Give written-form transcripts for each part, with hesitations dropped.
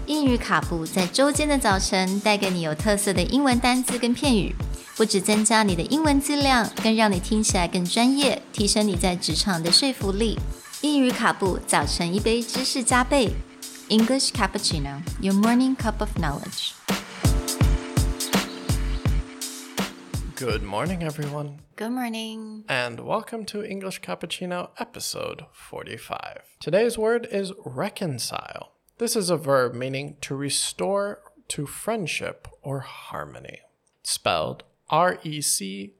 英语卡布在周间的早晨带给你有特色的英文单字跟片语，不只增加你的英文质量，更让你听起来更专业，提升你在职场的说服力。英语卡布早晨一杯知识加倍 English Cappuccino, your morning cup of knowledge. Good morning, everyone. Good morning. And welcome to English Cappuccino episode 45. Today's word is reconcile. This is a verb meaning to restore to friendship or harmony. Spelled R-E-C-O-N-C-I-L-E.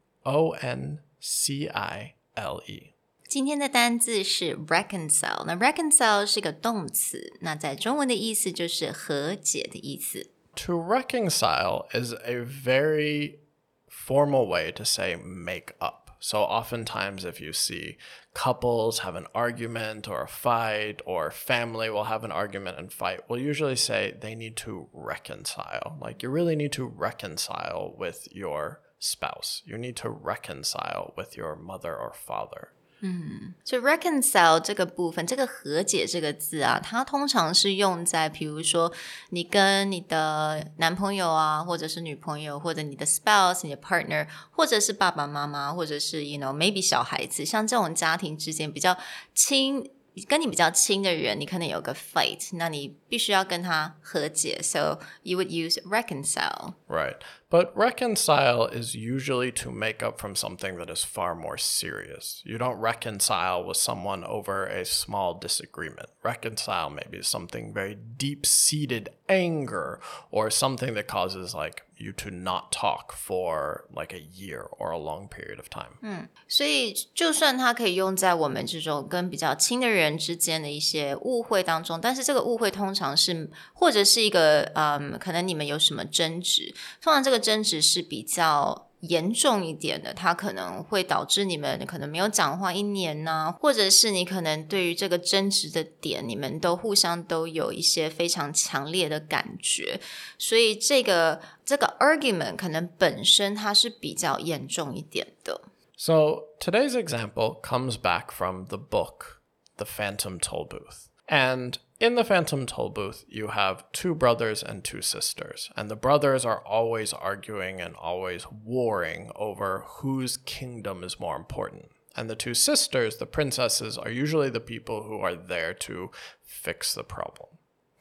今天的单字是 reconcile. 那 reconcile 是个动词，那在中文的意思就是和解的意思。 To reconcile is a very formal way to say make up. So oftentimes if you see couples have an argument or a fight, or family will have an argument and fight, we'll usually say they need to reconcile. Like you really need to reconcile with your spouse. You need to reconcile with your mother or father. 所以 reconcile 这个部分，这个和解这个字啊，它通常是用在比如说你跟你的男朋友啊，或者是女朋友，或者你的 spouse 你的 partner， 或者是爸爸妈妈，或者是 maybe 小孩子，像这种家庭之间比较亲，跟你比较亲的人，你可能有个 fight， 那你必须要跟他和解， so you would use reconcile. Right. But reconcile is usually to make up from something that is far more serious. You don't reconcile with someone over a small disagreement. Reconcile maybe something very deep-seated anger, or something that causes like you to not talk for like a year or a long period of time. 所以就算它可以用在我们这种跟比较亲的人之间的一些误会当中，但是这个误会通常是或者是一个可能你们有什么争执，通常这个争执是比较严重一点的，它可能会导致你们可能没有讲话1年啊，或者是你可能对于这个争执的点，你们都互相都有一些非常强烈的感觉，所以这个 argument 可能本身它是比较严重一点的。 So today's example comes back from the book, The Phantom Tollbooth. And in the Phantom Tollbooth, you have 2 brothers and 2 sisters. And the brothers are always arguing and always warring over whose kingdom is more important. And the 2 sisters, the princesses, are usually the people who are there to fix the problem.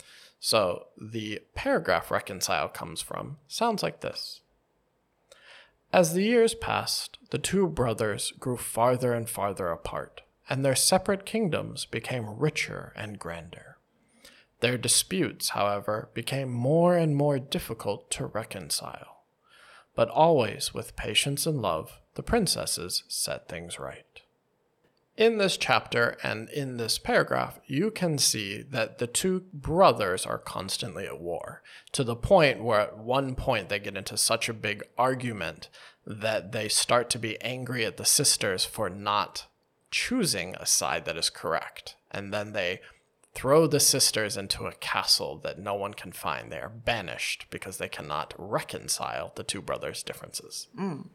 So the paragraph reconcile comes from sounds like this. As the years passed, the 2 brothers grew farther and farther apart, and their separate kingdoms became richer and grander. Their disputes, however, became more and more difficult to reconcile. But always with patience and love, the princesses set things right. In this chapter and in this paragraph, you can see that the 2 brothers are constantly at war, to the point where at one point they get into such a big argument that they start to be angry at the sisters for not choosing a side that is correct. And then they throw the sisters into a castle that no one can find. They are banished because they cannot reconcile the 2 brothers' differences.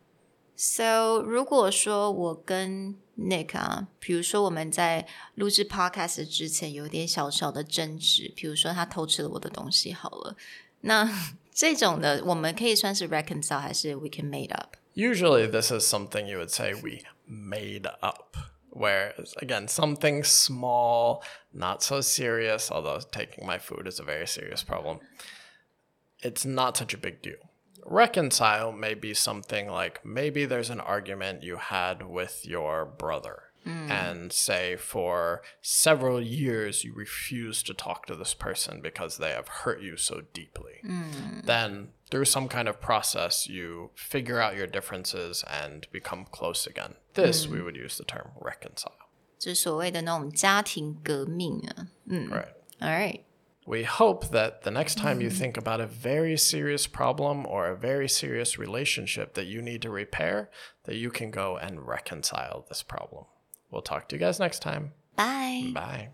So 如果说我跟 Nick 啊，比如说我们在录制 podcast 之前有点小小的争执，比如说他偷吃了我的东西好了，那这种的我们可以算是 reconcile 还是 we can made up? Usually this is something you would say we made up. Where, again, something small, not so serious, although taking my food is a very serious problem. It's not such a big deal. Reconcile may be something like maybe there's an argument you had with your brother. And say for several years you refuse to talk to this person because they have hurt you so deeply. Then through some kind of process, you figure out your differences and become close again. This we would use the term reconcile. 就是所谓的那种家庭革命啊。 Right. All right. We hope that the next time you think about a very serious problem or a very serious relationship that you need to repair, that you can go and reconcile this problem. We'll talk to you guys next time. Bye. Bye.